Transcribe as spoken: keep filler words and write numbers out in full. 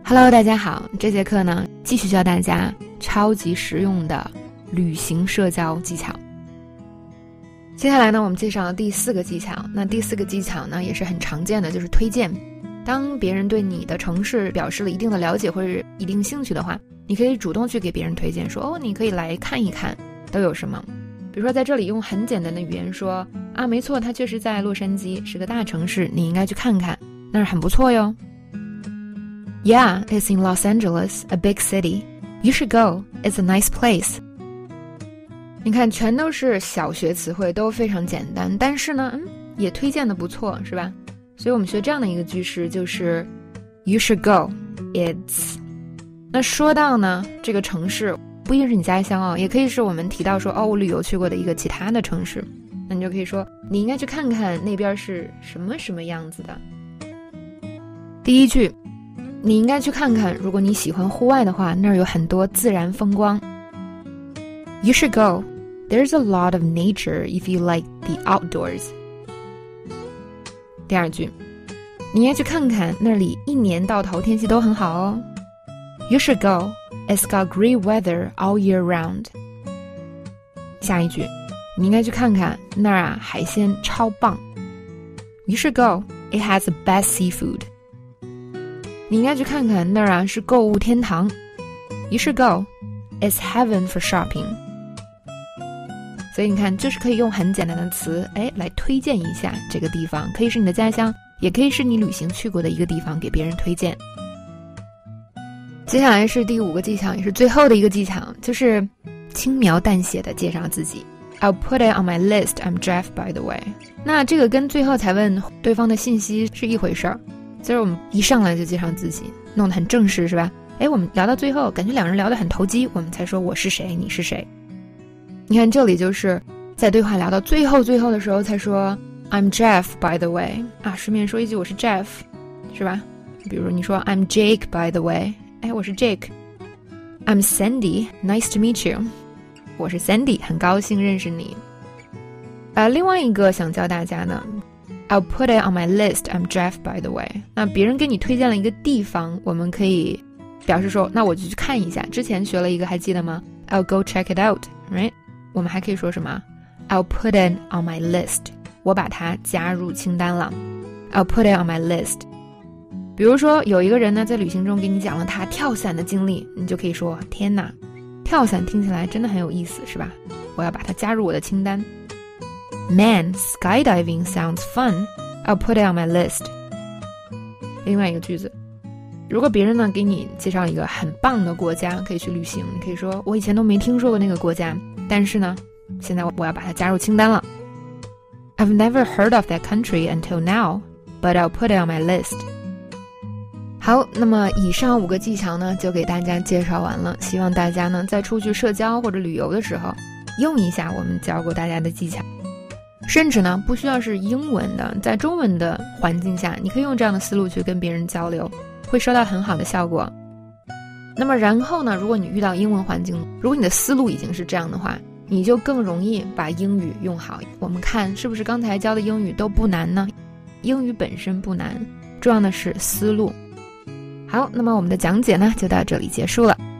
Hello， 大家好，这节课呢，继续教大家超级实用的旅行社交技巧。接下来呢，我们介绍第四个技巧。那第四个技巧呢，也是很常见的，就是推荐。当别人对你的城市表示了一定的了解或者一定兴趣的话，你可以主动去给别人推荐，说哦，你可以来看一看，都有什么。比如说在这里用很简单的语言说啊，没错，它确实在洛杉矶，是个大城市，你应该去看看，那是很不错哟。Yeah, it's in Los Angeles, a big city. You should go. It's a nice place. 你看，全都是小学词汇，都非常简单，但是呢，嗯，也推荐的不错，是吧？所以我们学这样的一个句式，就是 You should go. It's. 那说到呢，这个城市不一定是你家乡哦，也可以是我们提到说哦，我旅游去过的一个其他的城市，那你就可以说你应该去看看那边是什么什么样子的。第一句。你应该去看看，如果你喜欢户外的话，那儿有很多自然风光。You should go. There's a lot of nature if you like the outdoors. 第二句，你应该去看看，那里一年到头天气都很好哦。You should go. It's got great weather all year round. 下一句，你应该去看看，那儿啊海鲜超棒。You should go. It has the best seafood.你应该去看看，那儿啊是购物天堂。You should go. It's heaven for shopping. 所以你看，就是可以用很简单的词，哎，来推荐一下这个地方，可以是你的家乡，也可以是你旅行去过的一个地方，给别人推荐。接下来是第五个技巧，也是最后的一个技巧，就是轻描淡写的介绍自己。I'll put it on my list. I'm Jeff, by the way. 那这个跟最后才问对方的信息是一回事儿。就是我们一上来就介绍自己，弄得很正式，是吧？诶，我们聊到最后，感觉两人聊得很投机，我们才说我是谁，你是谁。你看这里就是在对话聊到最后最后的时候才说 I'm Jeff, by the way. 啊，顺便说一句我是 Jeff, 是吧？比如你说 I'm Jake, by the way. 诶，我是 Jake. I'm Sandy, nice to meet you. 我是 Sandy, 很高兴认识你。呃，另外一个想教大家呢I'll put it on my list. I'm Jeff, by the way. 那别人给你推荐了一个地方，我们可以表示说，那我就去看一下。之前学了一个，还记得吗？ I'll go check it out, right? 我们还可以说什么？ I'll put it on my list. 我把它加入清单了。I'll put it on my list. 比如说有一个人呢，在旅行中给你讲了他跳伞的经历，你就可以说，天哪，跳伞听起来真的很有意思，是吧？我要把它加入我的清单。Man, skydiving sounds fun. I'll put it on my list. 另外一个句子，如果别人呢给你介绍一个很棒的国家可以去旅行，你可以说我以前都没听说过那个国家，但是呢现在我要把它加入清单了。I've never heard of that country until now, but I'll put it on my list. 好，那么以上五个技巧呢就给大家介绍完了，希望大家呢在出去社交或者旅游的时候用一下我们教过大家的技巧。甚至呢不需要是英文的，在中文的环境下你可以用这样的思路去跟别人交流，会收到很好的效果。那么然后呢，如果你遇到英文环境，如果你的思路已经是这样的话，你就更容易把英语用好。我们看是不是刚才教的英语都不难呢？英语本身不难，重要的是思路。好，那么我们的讲解呢就到这里结束了。